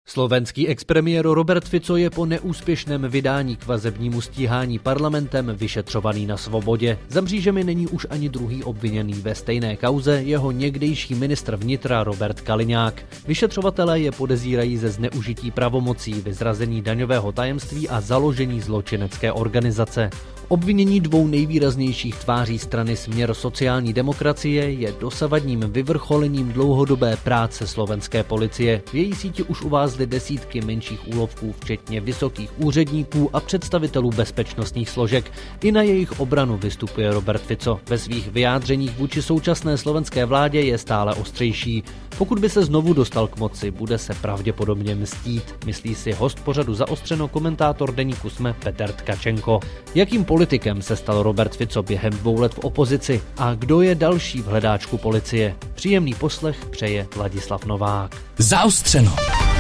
Slovenský expremiér Robert Fico je po neúspěšném vydání k vazebnímu stíhání parlamentem vyšetřovaný na svobodě. Za mřížemi není už ani druhý obviněný ve stejné kauze, jeho někdejší ministr vnitra Robert Kaliňák. Vyšetřovatelé je podezírají ze zneužití pravomocí, vyzrazení daňového tajemství a založení zločinecké organizace. Obvinění dvou nejvýraznějších tváří strany Směr sociální demokracie je dosavadním vyvrcholením dlouhodobé práce slovenské policie. V její síti už uvázly desítky menších úlovků, včetně vysokých úředníků a představitelů bezpečnostních složek. I na jejich obranu vystupuje Robert Fico. Ve svých vyjádřeních vůči současné slovenské vládě je stále ostřejší. Pokud by se znovu dostal k moci, bude se pravděpodobně mstít, myslí si host pořadu Zaostřeno, komentátor deníku SME Petr Tkačenko. Jakým politikem se stal Robert Fico během 2 let v opozici a kdo je další v hledáčku policie? Příjemný poslech přeje Ladislav Novák. Zaostřeno.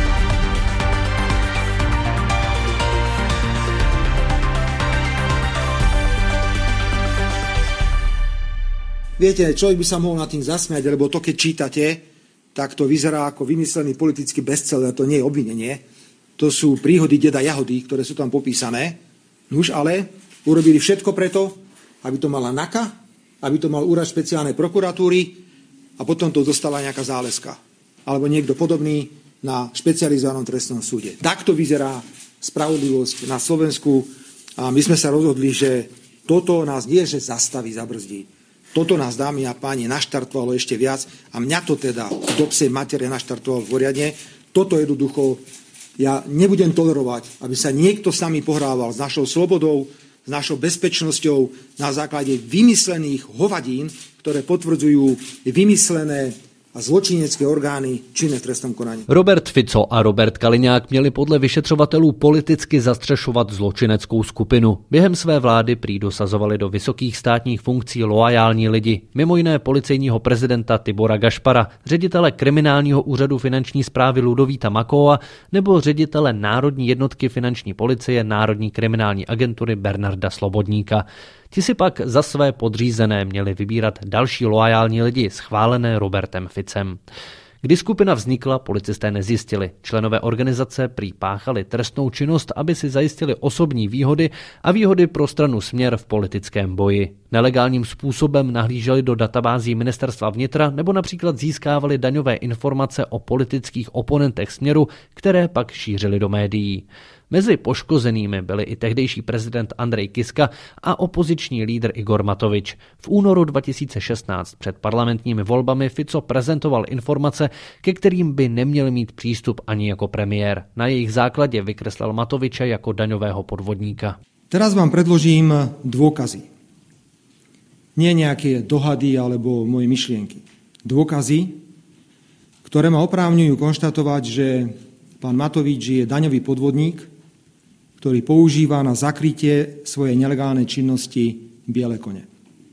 Viete, človek by sa mohol nad tým zasmiať, lebo to, keď čítate, tak to vyzerá ako vymyslený politický bestseller, to nie je obvinenie. To sú príhody deda Jahody, ktoré sú tam popísané. Nuž ale urobili všetko preto, aby to mala NAKA, aby to mal úrad špeciálnej prokuratúry a potom to dostala nejaká záleska. Alebo niekto podobný na špecializovanom trestnom súde. Takto vyzerá spravodlivosť na Slovensku a my sme sa rozhodli, že toto nás nie, že zastaví, zabrzdí. Toto nás, dámy a páni, naštartovalo ešte viac a mňa to teda do psej matere naštartovalo poriadne. Toto jednoducho ja nebudem tolerovať, aby sa niekto s nami pohrával s našou slobodou, s našou bezpečnosťou na základe vymyslených hovadín, ktoré potvrdzujú vymyslené a zločinecké orgány činné v trestnom konaní. Robert Fico a Robert Kaliňák měli podle vyšetřovatelů politicky zastřešovat zločineckou skupinu. Během své vlády prý dosazovali do vysokých státních funkcí loajální lidi, mimo jiné policejního prezidenta Tibora Gašpara, ředitele kriminálního úřadu finanční správy Ludovíta Makóa nebo ředitele Národní jednotky finanční policie Národní kriminální agentury Bernarda Slobodníka. Ti si pak za své podřízené měli vybírat další loajální lidi, schválené Robertem Ficem. Kdy skupina vznikla, policisté nezjistili. Členové organizace prý páchali trestnou činnost, aby si zajistili osobní výhody a výhody pro stranu Směr v politickém boji. Nelegálním způsobem nahlíželi do databází ministerstva vnitra nebo například získávali daňové informace o politických oponentech Směru, které pak šířili do médií. Mezi poškozenými byli i tehdejší prezident Andrej Kiska a opoziční lídr Igor Matovič. V únoru 2016 před parlamentními volbami Fico prezentoval informace, ke kterým by neměl mít přístup ani jako premiér. Na jejich základě vykreslil Matoviče jako daňového podvodníka. Teraz vám predložím dôkazy. Nie nejaké dohady alebo moje myšlienky. Dôkazy, ktoré ma oprávňujú konštatovať, že pán Matovič je daňový podvodník, ktorý používa na zakrytie svojej nelegálnej činnosti biele kone.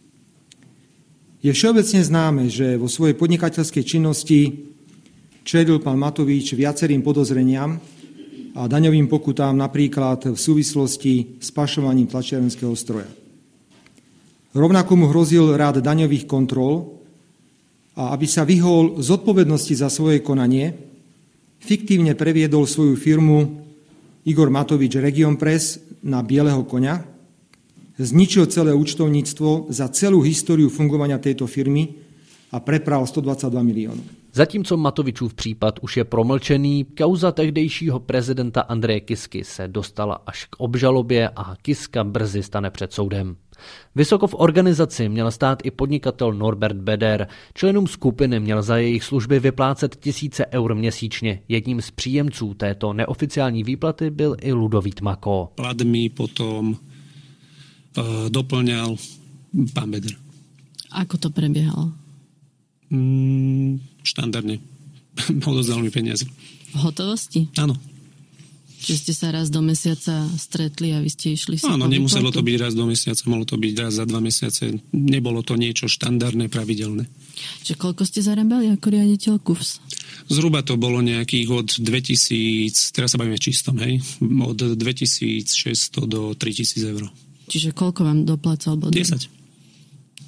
Je všeobecne známe, že vo svojej podnikateľskej činnosti čelil pán Matovič viacerým podozreniam a daňovým pokutám napríklad v súvislosti s pašovaním tlačiarenského stroja. Rovnako mu hrozil rád daňových kontrol a aby sa vyhol zodpovednosti za svoje konanie, fiktívne previedol svoju firmu Igor Matovič Region Press na bieleho koňa, zničil celé účtovníctvo za celú históriu fungovania tejto firmy a prepral 122 miliónov. Zatímco Matovičův případ už je promlčený, kauza tehdejšího prezidenta Andreje Kisky se dostala až k obžalobě a Kiska brzy stane před soudem. Vysoko v organizaci měl stát i podnikatel Norbert Beder. Členům skupiny měl za jejich služby vyplácet 1000 eur měsíčně. Jedním z příjemců této neoficiální výplaty byl i Ludovít Makó. Plat mi potom doplňal pán Beder. Ako to prebiehalo? Štandardne. Odozdal mi peniaze. V hotovosti? Áno. Čiže ste sa raz do mesiaca stretli a vy ste išli si Áno, nemuselo to byť raz do mesiaca, mohlo to byť raz za 2 mesiace. Nebolo to niečo štandardné, pravidelné. Čiže koľko ste zarábali ako riaditeľ KUFS? Zhruba to bolo nejakých od 2000, teraz sa bavíme čistom, hej, od 2600 do 3000 eur. Čiže koľko vám doplácal Bodor? 10.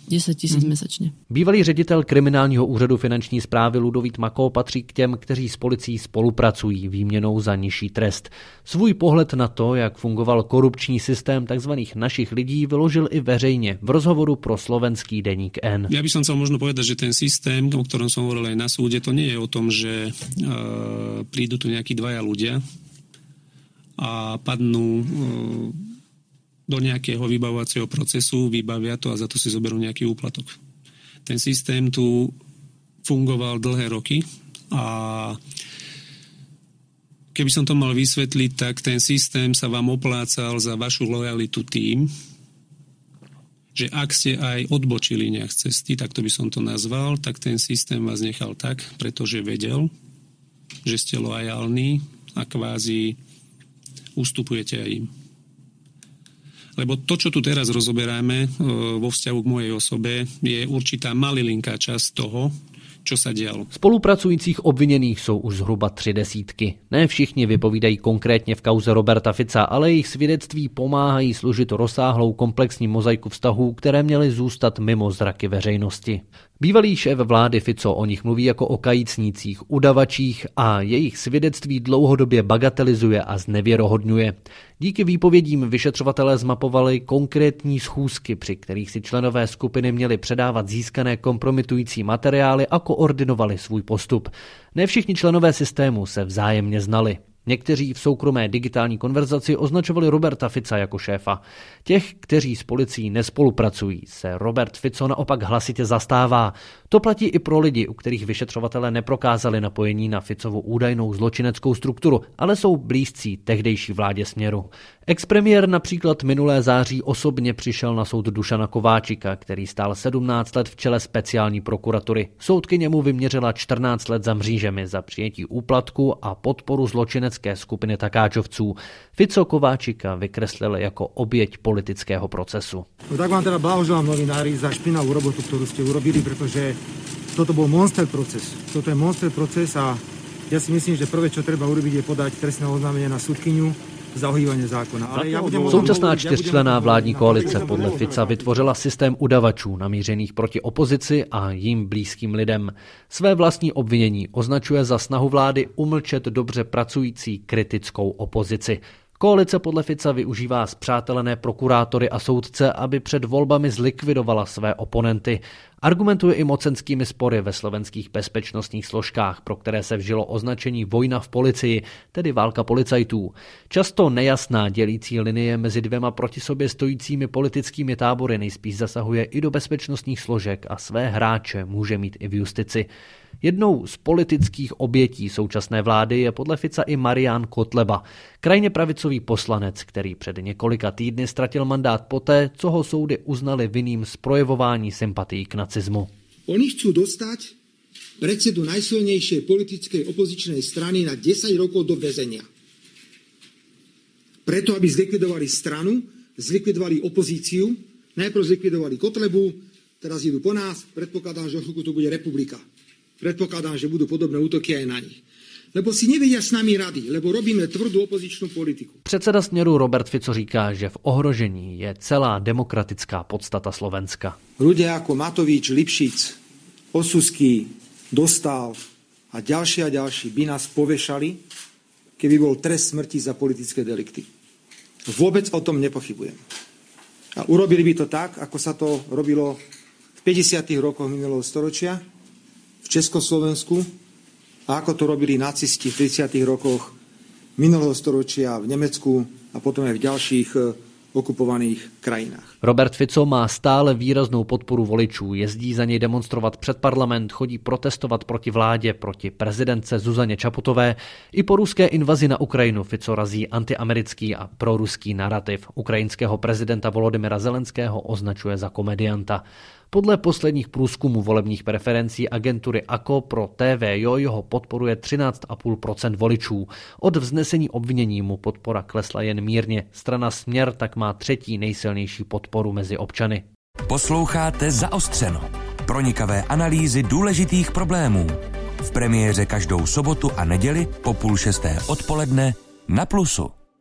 10 000 mesačně. Bývalý ředitel kriminálního úřadu finanční správy Ludovít Mako patří k těm, kteří s policií spolupracují výměnou za nižší trest. Svůj pohled na to, jak fungoval korupční systém tzv. Našich lidí, vyložil i veřejně v rozhovoru pro slovenský deník N. Ja by som chcel možno povedať, že ten systém, o ktorom som hovoril aj na súde, to nie je o tom, že prídu tu nejakí dvaja ľudia a padnú do nejakého vybavovacieho procesu, vybavia to a za to si zoberú nejaký úplatok. Ten systém tu fungoval dlhé roky a keby som to mal vysvetliť, tak ten systém sa vám oplácal za vašu lojalitu tým, že ak ste aj odbočili nejak z cesty, tak to by som to nazval, tak ten systém vás nechal tak, pretože vedel, že ste lojálni a kvázi ustupujete aj im. Lebo to, čo tu teraz rozoberáme vo vzťahu k mojej osobe, je určitá malilinká časť toho, čo sa dialo. Spolupracujících obviněných jsou už zhruba 30. Ne všichni vypovídají konkrétně v kauze Roberta Fica, ale jejich svědectví pomáhají složit rozsáhlou komplexní mozaiku vztahů, které měly zůstat mimo zraky veřejnosti. Bývalý šéf vlády Fico o nich mluví jako o kajícnících, udavačích a jejich svědectví dlouhodobě bagatelizuje a znevěrohodňuje. Díky výpovědím vyšetřovatelé zmapovali konkrétní schůzky, při kterých si členové skupiny měli předávat získané kompromitující materiály a koordinovali svůj postup. Ne všichni členové systému se vzájemně znali. Někteří v soukromé digitální konverzaci označovali Roberta Fica jako šéfa. Těch, kteří s policií nespolupracují, se Robert Fico naopak hlasitě zastává. To platí i pro lidi, u kterých vyšetřovatelé neprokázali napojení na Ficovu údajnou zločineckou strukturu, ale jsou blízcí tehdejší vládě Směru. Expremiér například minulé září osobně přišel na soud Dušana Kováčika, který stál 17 let v čele speciální prokuratury. Soudkyně mu vyměřila 14 let za mřížemi za přijetí úplatku a podporu zločinecké skupiny takáčovců. Fico Kováčika vykreslil jako oběť politického procesu. No tak vám teda blahoželám, novinári, za špinavú robotu, ktorú ste urobili, pretože toto bol monster proces. Toto je monster proces a ja si myslím, že prvé, čo treba urobiť, je podať trestné oznámenie na sudkyňu za ohýbanie zákona. Současná čtyřčlenná vládní koalice podle Fica vytvořila systém udavačů namířených proti opozici a jim blízkým lidem. Své vlastní obvinění označuje za snahu vlády umlčet dobře pracující kritickou opozici. Koalice podle Fica využívá spřátelené prokurátory a soudce, aby před volbami zlikvidovala své oponenty. Argumentuje i mocenskými spory ve slovenských bezpečnostních složkách, pro které se vžilo označení vojna v policii, tedy válka policajtů. Často nejasná dělící linie mezi dvěma proti sobě stojícími politickými tábory nejspíš zasahuje i do bezpečnostních složek a své hráče může mít i v justici. Jednou z politických obětí současné vlády je podle Fica i Marián Kotleba, krajně pravicový poslanec, který před několika týdny ztratil mandát poté, co ho soudy uznali vinným z projevování sympatií k nacizmu. Oni chcú dostať predsedu najsilnejšej politickej opozičnej strany na 10 rokov do väzenia. Preto, aby zlikvidovali stranu, zlikvidovali opozíciu, najprv zlikvidovali Kotlebu, teraz idú po nás, predpokladám, že o chvíľku to bude republika. Predpokladám, že budú podobné útoky aj na nich. Lebo si nevedia s nami rady, lebo robíme tvrdú opozičnú politiku. Předseda Směru Robert Fico říká, že v ohrožení je celá demokratická podstata Slovenska. Ľudia ako Matovič, Lipšic, Osusky, Dostál a ďalší by nás povešali, keby bol trest smrti za politické delikty. Vôbec o tom nepochybujem. A urobili by to tak, ako sa to robilo v 50. rokoch minulého storočia v Československu a ako to robili nacisti v 30. rokoch minulého storočia v Nemecku a potom aj v ďalších okupovaných krajinách. Robert Fico má stále výraznou podporu voličů, jezdí za něj demonstrovat před parlament, chodí protestovat proti vládě, proti prezidentce Zuzaně Čaputové. I po ruské invazi na Ukrajinu Fico razí antiamerický a proruský narrativ. Ukrajinského prezidenta Volodymyra Zelenského označuje za komedianta. Podle posledních průzkumů volebních preferencí agentury AKO pro TVJO jeho podporuje 13,5% voličů. Od vznesení obvinění mu podpora klesla jen mírně. Strana Směr tak má třetí nejsilnější podporu mezi občany. Posloucháte Zaostřeno. Pronikavé analýzy důležitých problémů. V premiéře každou sobotu a neděli po 5:30 odpoledne na Plusu.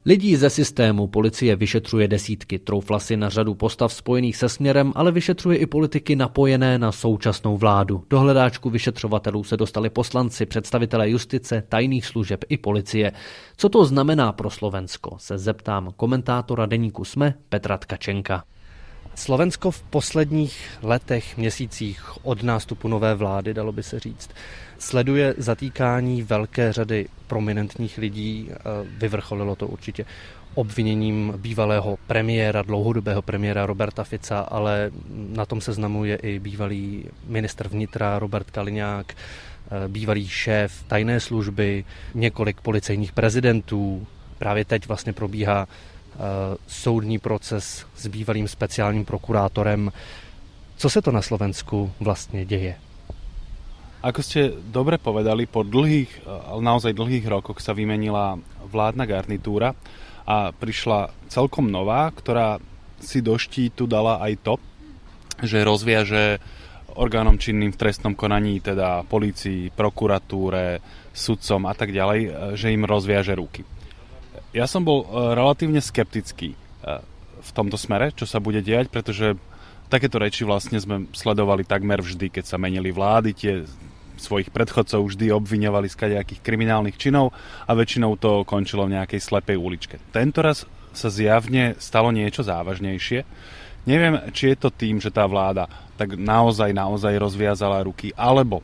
Lidí ze systému policie vyšetřuje desítky, troufla si na řadu postav spojených se Směrem, ale vyšetřuje i politiky napojené na současnou vládu. Do hledáčku vyšetřovatelů se dostali poslanci, představitelé justice, tajných služeb i policie. Co to znamená pro Slovensko, se zeptám komentátora deníku SME Petra Tkačenka. Slovensko v posledních letech, měsících od nástupu nové vlády, dalo by se říct, sleduje zatýkání velké řady prominentních lidí. Vyvrcholilo to určitě obviněním bývalého premiéra, dlouhodobého premiéra Roberta Fica, ale na tom seznamu je i bývalý ministr vnitra Robert Kaliňák, bývalý šéf tajné služby, několik policejních prezidentů. Právě teď vlastně probíhá soudní proces s bývalým speciálním prokurátorem. Co se to na Slovensku vlastne deje? Ako ste dobre povedali, po naozaj dlhých rokoch sa vymenila vládna garnitúra a prišla celkom nová, ktorá si do štítu dala aj to, že rozviaže orgánom činným v trestnom konaní, teda polícii, prokuratúre, sudcom a tak ďalej, že im rozviaže ruky. Ja som bol relatívne skeptický v tomto smere, čo sa bude diať, pretože takéto reči vlastne sme sledovali takmer vždy, keď sa menili vlády, tie svojich predchodcov vždy obviňovali z kadejakých kriminálnych činov a väčšinou to končilo v nejakej slepej uličke. Tentoraz sa zjavne stalo niečo závažnejšie. Neviem, či je to tým, že tá vláda tak naozaj rozviazala ruky, alebo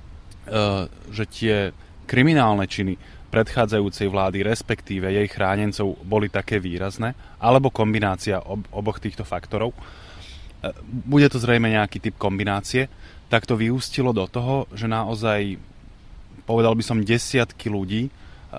že tie kriminálne činy predchádzajúcej vlády, respektíve jej chránencov, boli také výrazné, alebo kombinácia oboch týchto faktorov. Bude to zrejme nejaký typ kombinácie, tak to vyústilo do toho, že naozaj, povedal by som, desiatky ľudí,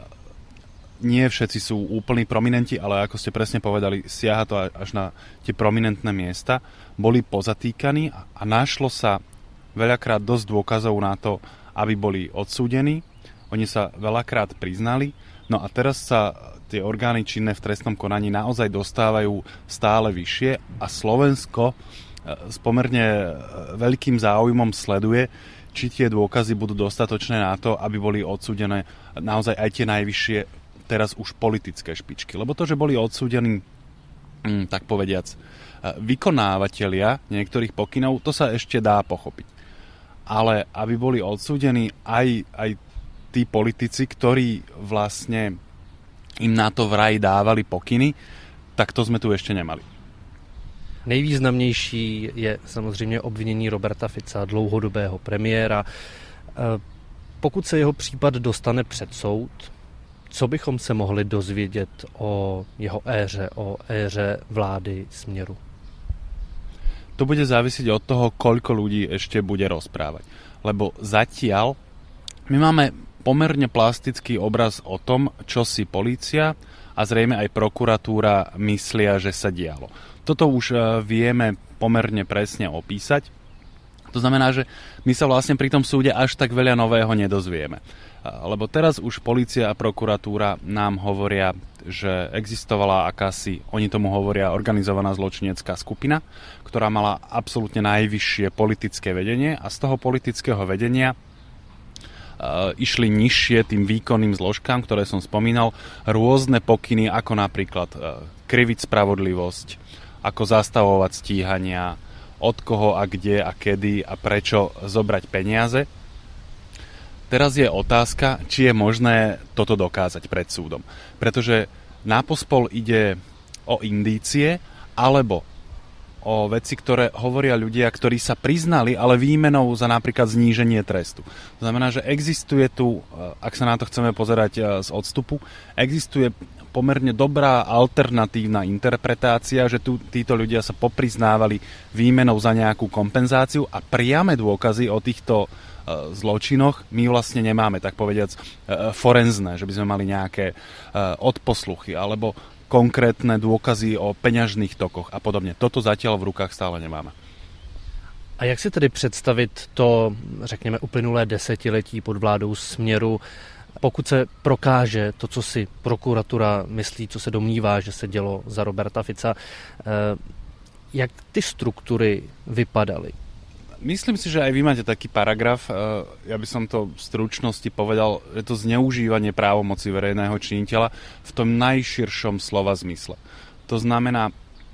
nie všetci sú úplní prominenti, ale ako ste presne povedali, siaha to až na tie prominentné miesta, boli pozatýkaní a našlo sa veľakrát dosť dôkazov na to, aby boli odsúdení. Oni sa veľakrát priznali, no a teraz sa tie orgány činné v trestnom konaní naozaj dostávajú stále vyššie a Slovensko s pomerne veľkým záujmom sleduje, či tie dôkazy budú dostatočné na to, aby boli odsúdené naozaj aj tie najvyššie, teraz už politické špičky. Lebo to, že boli odsúdení, tak povediac, vykonávatelia niektorých pokynov, to sa ešte dá pochopiť. Ale aby boli odsúdení aj tí politici, ktorí vlastne im na to vraj dávali pokyny, tak to sme tu ešte nemali. Nejvýznamnější je samozřejmě obvinění Roberta Fica, dlouhodobého premiéra. Pokud se jeho případ dostane před soud, co bychom se mohli dozvědět o jeho éře, o éře vlády Směru? To bude závisiť od toho, koľko ľudí ešte bude rozprávať. Lebo zatiaľ my máme pomerne plastický obraz o tom, čo si polícia a zrejme aj prokuratúra myslia, že sa dialo. Toto už vieme pomerne presne opísať. To znamená, že my sa vlastne pri tom súde až tak veľa nového nedozvieme. Lebo teraz už polícia a prokuratúra nám hovoria, že existovala akási, oni tomu hovoria, organizovaná zločinecká skupina, ktorá mala absolútne najvyššie politické vedenie a z toho politického vedenia išli nižšie tým výkonným zložkám, ktoré som spomínal, rôzne pokyny, ako napríklad kriviť spravodlivosť, ako zastavovať stíhania, od koho a kde a kedy a prečo zobrať peniaze. Teraz je otázka, či je možné toto dokázať pred súdom. Pretože na pospol ide o indície alebo o veci, ktoré hovoria ľudia, ktorí sa priznali, ale výmenou za napríklad zníženie trestu. To znamená, že existuje tu, ak sa na to chceme pozerať z odstupu, existuje pomerne dobrá alternatívna interpretácia, že títo ľudia sa popriznávali výmenou za nejakú kompenzáciu a priame dôkazy o týchto zločinoch my vlastne nemáme, tak povediac, forenzné, že by sme mali nejaké odposluchy alebo konkrétne dôkazy o peňažných tokoch a podobne. Toto zatiaľ v rukách stále nemáme. A jak si tedy představit to, řekněme, uplynulé desetiletí pod vládou Směru, pokud se prokáže to, co si prokuratura myslí, co se domnívá, že se dělo za Roberta Fica, jak ty struktury vypadaly? Myslím si, že aj vy máte taký paragraf, ja by som to v stručnosti povedal, že to zneužívanie právomoci verejného činiteľa v tom najširšom slova zmysle. To znamená,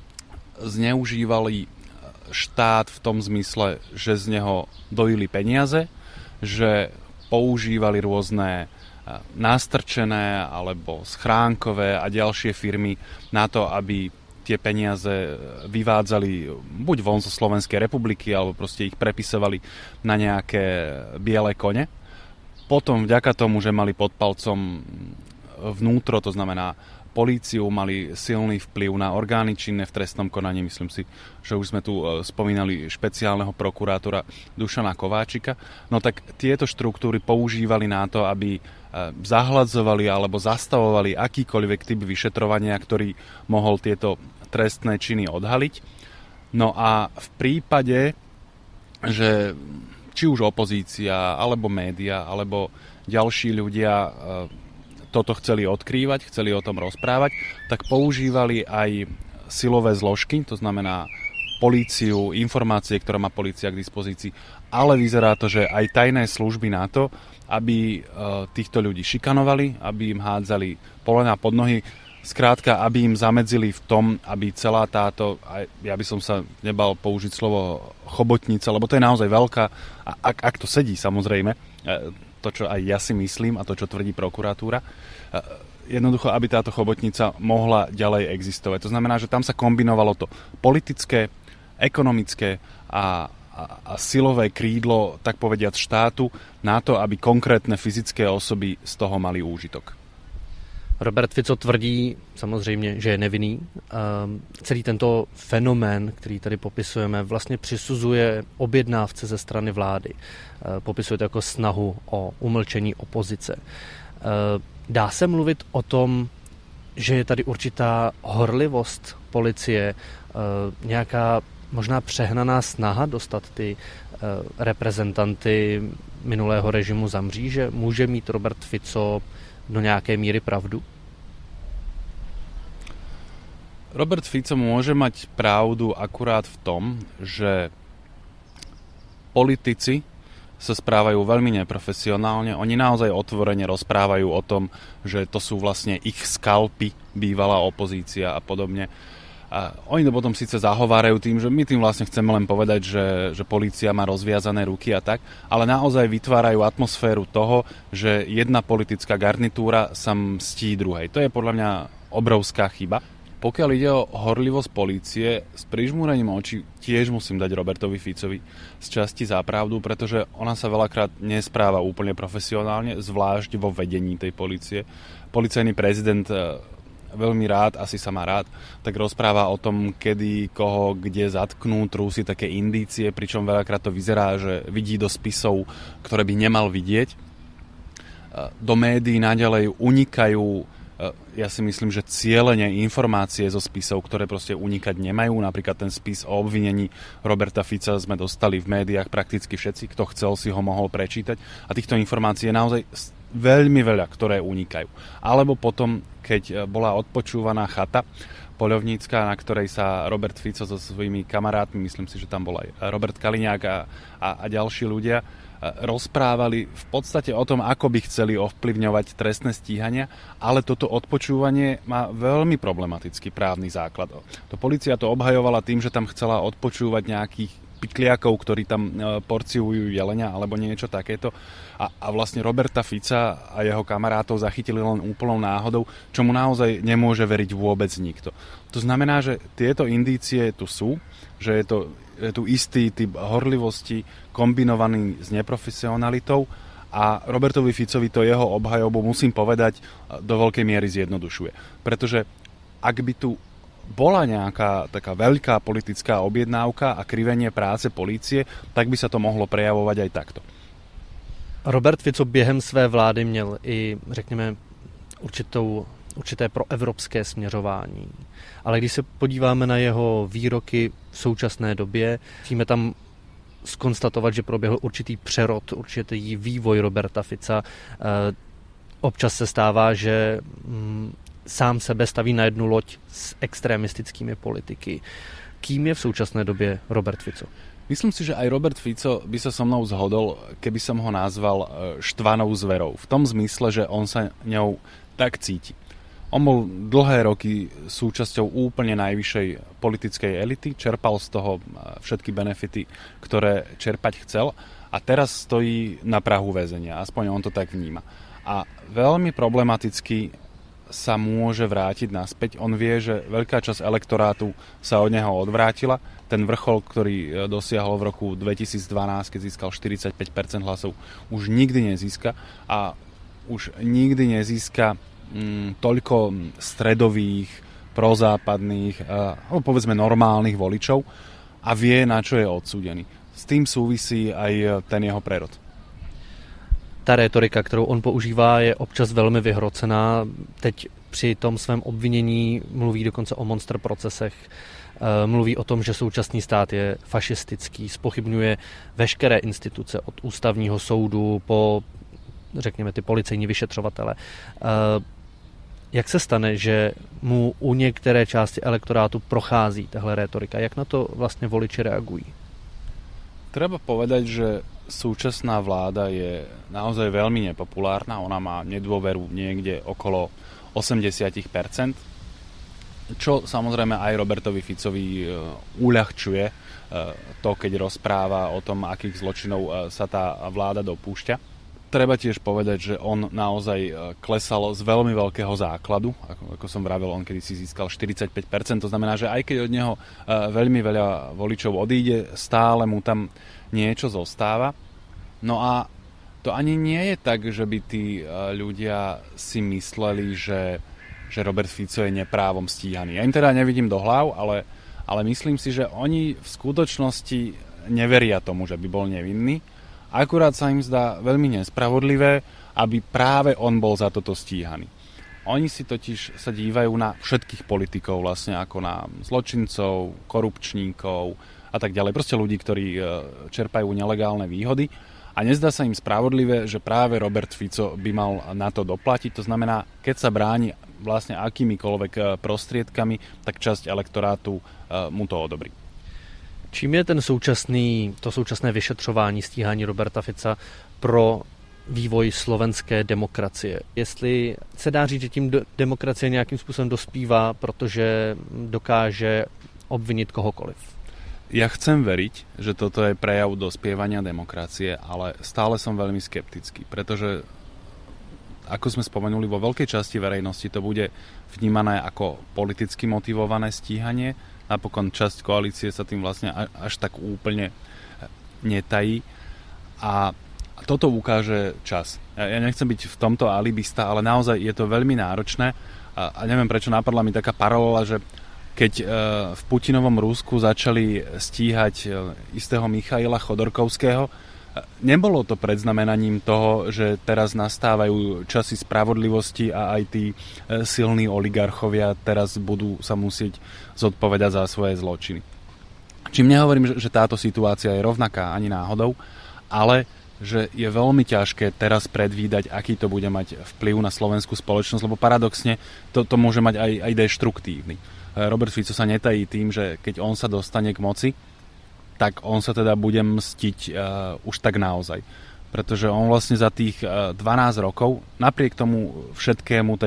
zneužívali štát v tom zmysle, že z neho dojili peniaze, že používali rôzne nástrčené alebo schránkové a ďalšie firmy na to, aby tie peniaze vyvádzali buď von zo Slovenskej republiky, alebo proste ich prepisovali na nejaké biele kone. Potom vďaka tomu, že mali pod palcom vnútro, to znamená políciu, mali silný vplyv na orgány činné v trestnom konaní. Myslím si, že už sme tu spomínali špeciálneho prokurátora Dušana Kováčika. No tak tieto štruktúry používali na to, aby zahladzovali alebo zastavovali akýkoľvek typ vyšetrovania, ktorý mohol tieto trestné činy odhaliť. No a v prípade, že či už opozícia, alebo média, alebo ďalší ľudia toto chceli odkrývať, chceli o tom rozprávať, tak používali aj silové zložky, to znamená políciu, informácie, ktoré má polícia k dispozícii, ale vyzerá to, že aj tajné služby na to, aby týchto ľudí šikanovali, aby im hádzali polená pod nohy, skrátka, aby im zamedzili v tom, aby celá táto, ja by som sa nebal použiť slovo chobotnica, lebo to je naozaj veľká, ak to sedí samozrejme, to, čo aj ja si myslím a to, čo tvrdí prokuratúra, jednoducho, aby táto chobotnica mohla ďalej existovať. To znamená, že tam sa kombinovalo to politické, ekonomické a silové krídlo, tak povediať, štátu na to, aby konkrétne fyzické osoby z toho mali úžitok. Robert Fico tvrdí samozřejmě, že je nevinný. Celý tento fenomén, který tady popisujeme, vlastně přisuzuje objednávce ze strany vlády. Popisuje to jako snahu o umlčení opozice. Dá se mluvit o tom, že je tady určitá horlivost policie, nějaká možná přehnaná snaha dostat ty reprezentanty minulého režimu za mříže? Může mít Robert Fico do nejakej míry pravdu? Robert Fico môže mať pravdu akurát v tom, že politici sa správajú veľmi neprofesionálne. Oni naozaj otvorene rozprávajú o tom, že to sú vlastne ich skalpy, bývalá opozícia a podobne. A oni to potom síce zahovárajú tým, že my tým vlastne chceme len povedať, že polícia má rozviazané ruky a tak, ale naozaj vytvárajú atmosféru toho, že jedna politická garnitúra sa mstí druhej. To je podľa mňa obrovská chyba. Pokiaľ ide o horlivosť polície, s prižmúrením očí tiež musím dať Robertovi Ficovi z časti za pravdu, pretože ona sa veľakrát nespráva úplne profesionálne, zvlášť vo vedení tej polície. Policajný prezident veľmi rád, asi sa má rád, tak rozpráva o tom, kedy, koho, kde zatknú, trúsi také indície, pričom veľakrát to vyzerá, že vidí do spisov, ktoré by nemal vidieť. Do médií naďalej unikajú, ja si myslím, že cielene informácie zo spisov, ktoré proste unikať nemajú. Napríklad ten spis o obvinení Roberta Fica sme dostali v médiách prakticky všetci, kto chcel si ho mohol prečítať. A týchto informácií je naozaj veľmi veľa, ktoré unikajú. Alebo potom, keď bola odpočúvaná chata poľovnícka, na ktorej sa Robert Fico so svojimi kamarátmi, myslím si, že tam bol aj Robert Kaliňák a ďalší ľudia, rozprávali v podstate o tom, ako by chceli ovplyvňovať trestné stíhania, ale toto odpočúvanie má veľmi problematický právny základ. To polícia to obhajovala tým, že tam chcela odpočúvať nejakých pikliakov, ktorí tam porciujú jelenia alebo niečo takéto. A vlastne Roberta Fica a jeho kamarátov zachytili len úplnou náhodou, čomu naozaj nemôže veriť vôbec nikto. To znamená, že tieto indície tu sú, že je tu istý typ horlivosti kombinovaný s neprofesionalitou a Robertovi Ficovi to jeho obhajobu, musím povedať, do veľkej miery zjednodušuje. Pretože ak by tu bola nejaká taká veľká politická objednávka a krivenie práce polície, tak by sa to mohlo prejavovať aj takto. Robert Fico během své vlády měl i, řekněme, určité proevropské směřování. Ale když se podíváme na jeho výroky v současné době, musíme tam zkonstatovat, že proběhl určitý přerod, určitý vývoj Roberta Fica. Občas se stává, že sám sebe staví na jednu loď s extremistickými politiky. Kým je v současné době Robert Fico? Myslím si, že aj Robert Fico by sa so mnou zhodol, keby som ho nazval štvanou zverou. V tom zmysle, že on sa ňou tak cíti. On bol dlhé roky súčasťou úplne najvyššej politickej elity, čerpal z toho všetky benefity, ktoré čerpať chcel a teraz stojí na prahu väzenia, aspoň on to tak vníma. A veľmi problematicky sa môže vrátiť naspäť. On vie, že veľká časť elektorátu sa od neho odvrátila. Ten vrchol, ktorý dosiahol v roku 2012, keď získal 45% hlasov, už nikdy nezíska a už nikdy nezíska toľko stredových, prozápadných, povedzme normálnych voličov a vie, na čo je odsúdený. S tým súvisí aj ten jeho prerod. Ta rétorika, kterou on používá, je občas velmi vyhrocená. Teď při tom svém obvinění mluví dokonce o monster procesech. Mluví o tom, že současný stát je fašistický, zpochybňuje veškeré instituce od ústavního soudu po, řekněme, ty policejní vyšetřovatele. Jak se stane, že mu u některé části elektorátu prochází tahle rétorika? Jak na to vlastně voliči reagují? Treba povedať, že súčasná vláda je naozaj veľmi nepopulárna. Ona má nedôveru niekde okolo 80%, čo samozrejme aj Robertovi Ficovi uľahčuje to, keď rozpráva o tom, akých zločinov sa tá vláda dopúšťa. Treba tiež povedať, že on naozaj klesal z veľmi veľkého základu. Ako som vravel, on kedysi získal 45%. To znamená, že aj keď od neho veľmi veľa voličov odíde, stále mu tam niečo zostáva. No a to ani nie je tak, že by tí ľudia si mysleli, že Robert Fico je neprávom stíhaný. Ja im teda nevidím do hlav, ale myslím si, že oni v skutočnosti neveria tomu, že by bol nevinný. Akurát sa im zdá veľmi nespravodlivé, aby práve on bol za toto stíhaný. Oni si totiž sa dívajú na všetkých politikov, vlastne ako na zločincov, korupčníkov a tak ďalej. Proste ľudí, ktorí čerpajú nelegálne výhody. A nezdá sa im spravodlivé, že práve Robert Fico by mal na to doplatiť. To znamená, keď sa bráni vlastne akýmikoľvek prostriedkami, tak časť elektorátu mu to odobrí. Čím je to současné vyšetřování, stíhání Roberta Fica pro vývoj slovenské demokracie? Jestli se dá říct, že tím demokracie nějakým způsobem dospívá, protože dokáže obvinit kohokoliv? Ja chcem veriť, že toto je prejav dospievania demokracie, ale stále som veľmi skeptický, pretože ako sme spomenuli, vo veľkej časti verejnosti to bude vnímané ako politicky motivované stíhanie. Napokon časť koalície sa tým vlastne až tak úplne netají. A toto ukáže čas. Ja nechcem byť v tomto alibista, ale naozaj je to veľmi náročné. A neviem, prečo napadla mi taká paralela, že keď v Putinovom Rusku začali stíhať istého Michaila Chodorkovského, nebolo to predznamenaním toho, že teraz nastávajú časy spravodlivosti a aj tí silní oligarchovia teraz budú sa musieť zodpovedať za svoje zločiny. Čím nehovorím, že táto situácia je rovnaká ani náhodou, ale že je veľmi ťažké teraz predvídať, aký to bude mať vplyv na slovenskú spoločnosť, lebo paradoxne to môže mať aj deštruktívny. Robert Fico sa netají tým, že keď on sa dostane k moci, tak on sa teda bude mstiť už tak naozaj. Pretože on vlastne za tých 12 rokov, napriek tomu všetkému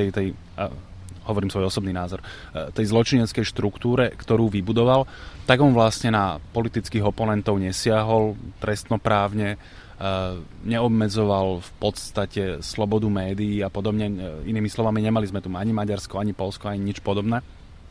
hovorím svoj osobný názor, tej zločineckej štruktúre, ktorú vybudoval, tak on vlastne na politických oponentov nesiahol trestnoprávne, neobmedzoval v podstate slobodu médií a podobne. Inými slovami, nemali sme tu ani Maďarsko, ani Poľsko, ani nič podobné.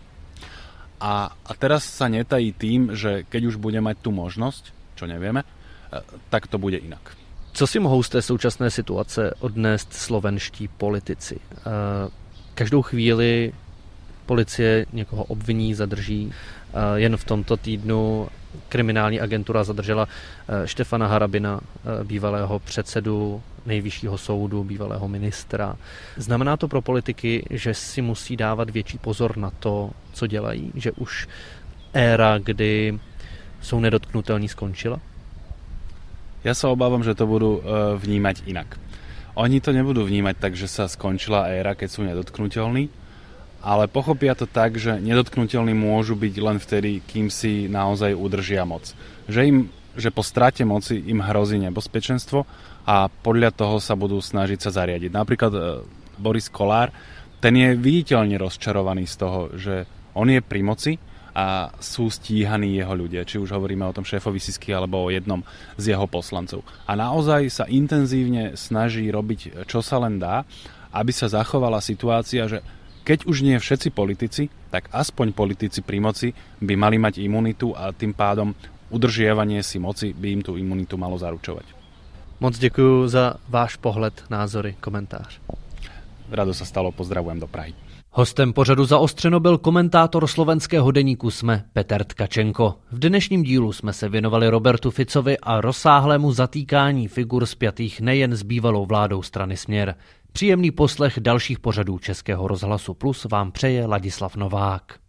A teraz sa netají tým, že keď už bude mať tú možnosť, čo nevieme, tak to bude inak. Co si mohou z té současné situace odnést slovenští politici? Každou chvíli policie někoho obviní, zadrží. Jen v tomto týdnu kriminální agentura zadržela Štefana Harabina, bývalého předsedu Nejvyššího soudu, bývalého ministra. Znamená to pro politiky, že si musí dávat větší pozor na to, co dělají? Že už éra, kdy jsou nedotknutelní, skončila? Ja sa obávam, že to budú vnímať inak. Oni to nebudú vnímať tak, že sa skončila éra, keď sú nedotknutelní, ale pochopia to tak, že nedotknutelní môžu byť len vtedy, kým si naozaj udržia moc. Že im že po strate moci im hrozí nebezpečenstvo a podľa toho sa budú snažiť sa zariadiť. Napríklad Boris Kollár, ten je viditeľne rozčarovaný z toho, že on je pri moci a sú stíhaní jeho ľudia, či už hovoríme o tom šéfovi Sisky alebo o jednom z jeho poslancov. A naozaj sa intenzívne snaží robiť, čo sa len dá, aby sa zachovala situácia, že keď už nie všetci politici, tak aspoň politici pri moci by mali mať imunitu a tým pádom udržiavanie si moci by im tú imunitu malo zaručovať. Moc děkuji za váš pohled, názory, komentář. Rado sa stalo, pozdravujem do Prahy. Hostem pořadu Zaostřeno byl komentátor slovenského deníku SME Peter Tkačenko. V dnešním dílu jsme se věnovali Robertu Ficovi a rozsáhlému zatýkání figur spjatých nejen s bývalou vládou strany Směr. Příjemný poslech dalších pořadů Českého rozhlasu Plus vám přeje Ladislav Novák.